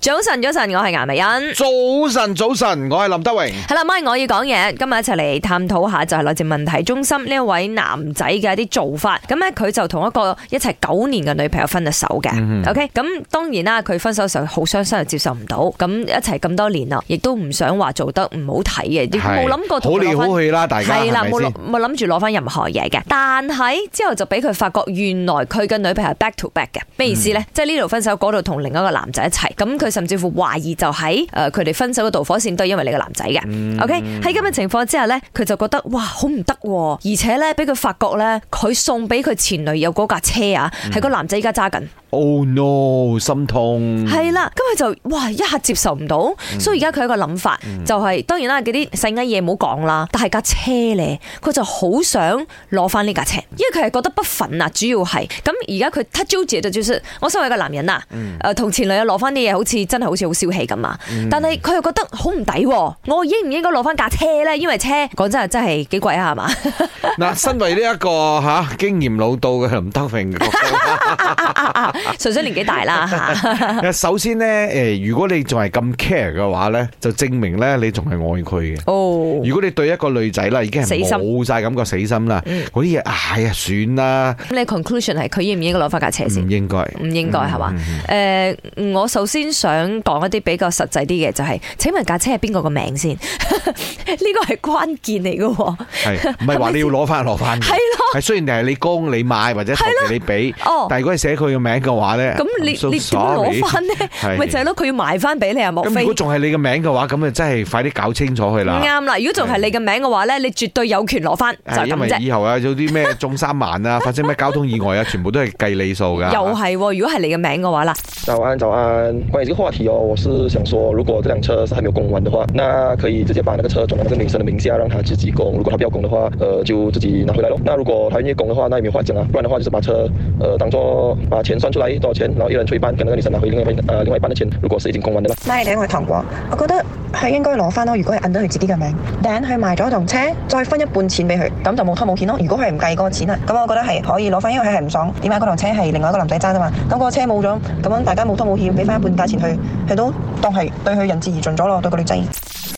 早晨，我係顏美欣。 早晨，我係林德榮。 係啦，咪我要講嘢，今日一齊嚟探討下就係來自問題中心呢一位男仔嘅一啲做法。咁咧佢就同一個一齊9年嘅女朋友分咗手嘅。OK， 咁當然啦，佢分手嘅時候好傷心，又接受唔到。咁一齊咁多年啦，亦都唔想話做得唔好睇嘅，亦冇諗過同佢攞翻。 好嚟好去啦，大家係啦， 冇諗住攞翻任何嘢嘅。但係之後就俾佢發覺，原來佢嘅女朋友係 back to back 嘅。咩意思咧？即係呢度分手，嗰度同另一個男仔一齊。咁佢甚至乎懷疑就喺佢哋分手嘅導火線都係因為你個男仔嘅。OK， 喺咁嘅情況之下咧，佢就覺得哇好唔得，而且咧俾佢發覺咧，佢送俾佢前女友嗰架車啊，係個男仔依家揸緊。 Oh no， 心痛。 係啦，咁佢就哇一下接受唔到，所以而家佢有一個諗法，就係當然啦，嗰啲細嘅嘢唔好講啦，但係架車咧，佢就好想攞翻呢架車，因為佢係覺得不忿啊，主要係咁而家佢他糾結就是我身為一個男人啊，同前女友攞翻啲嘢，好似真係好似好小氣咁啊，但係佢又覺得好唔抵，我應唔應該攞翻架車咧？因為車講真係幾貴啊，係嘛？ 嗱，身為呢一個經驗老道嘅林德榮。 純粹年紀大啦吓。 首先咧，如果你仲係咁 care 嘅話咧，就證明咧你仲係愛佢嘅。哦，如果你對一個女仔啦，已經係冇晒感覺死心啦，嗰啲嘢哎呀算啦。咁你 conclusion 係佢應唔應該攞翻架車先？ 唔應該， 唔應該係嘛？我首先想講一啲比較實際啲嘅，就係請問架車係邊個個名先？呢個係關鍵嚟嘅。係唔係話你要攞翻攞翻？係咯，係雖然係你供你買或者同你俾，但係如果係寫佢嘅名嘅話咧， 咁你點攞翻呢？咪就係咯，佢要賣翻俾你啊！莫非？ 咁如果仲係你嘅名嘅話，咁啊真係快啲搞清楚佢啦。 啱啦，如果仲係你嘅名嘅話咧，你絕對有權攞翻，就係咁啫。 因為以後啊，有啲咩中3萬啊，發生咩交通意外啊，全部都係計你數噶。 又係，如果係你嘅名嘅話啦。 早安，關於這個話題哦，我是想說，如果這輛車是還沒有供完的話，那可以直接把那個車轉到那個女生的名下，讓她自己供。如果她不要供的話，就自己拿回來咯。那如果她願意供的話，那也沒有話講啊。不然的話，就是把車當作把錢算出來多少錢，然後一人出一半，跟那個女生拿回另外一半的錢。如果是已經供完的啦。 拉你我糖果，我覺得係應該攞翻咯。如果係按到佢自己嘅名，等佢賣咗棟車，再分一半錢俾佢，咁就冇拖冇欠咯。如果佢係唔計嗰個錢啊，咁我覺得係可以攞翻，因為佢係唔爽。點解嗰輛車係另外一個男仔揸啫嘛？咁嗰個車冇咗，咁樣大家冇拖冇欠，俾翻一半價錢佢都當係對佢仁至義盡咗咯，對個女仔。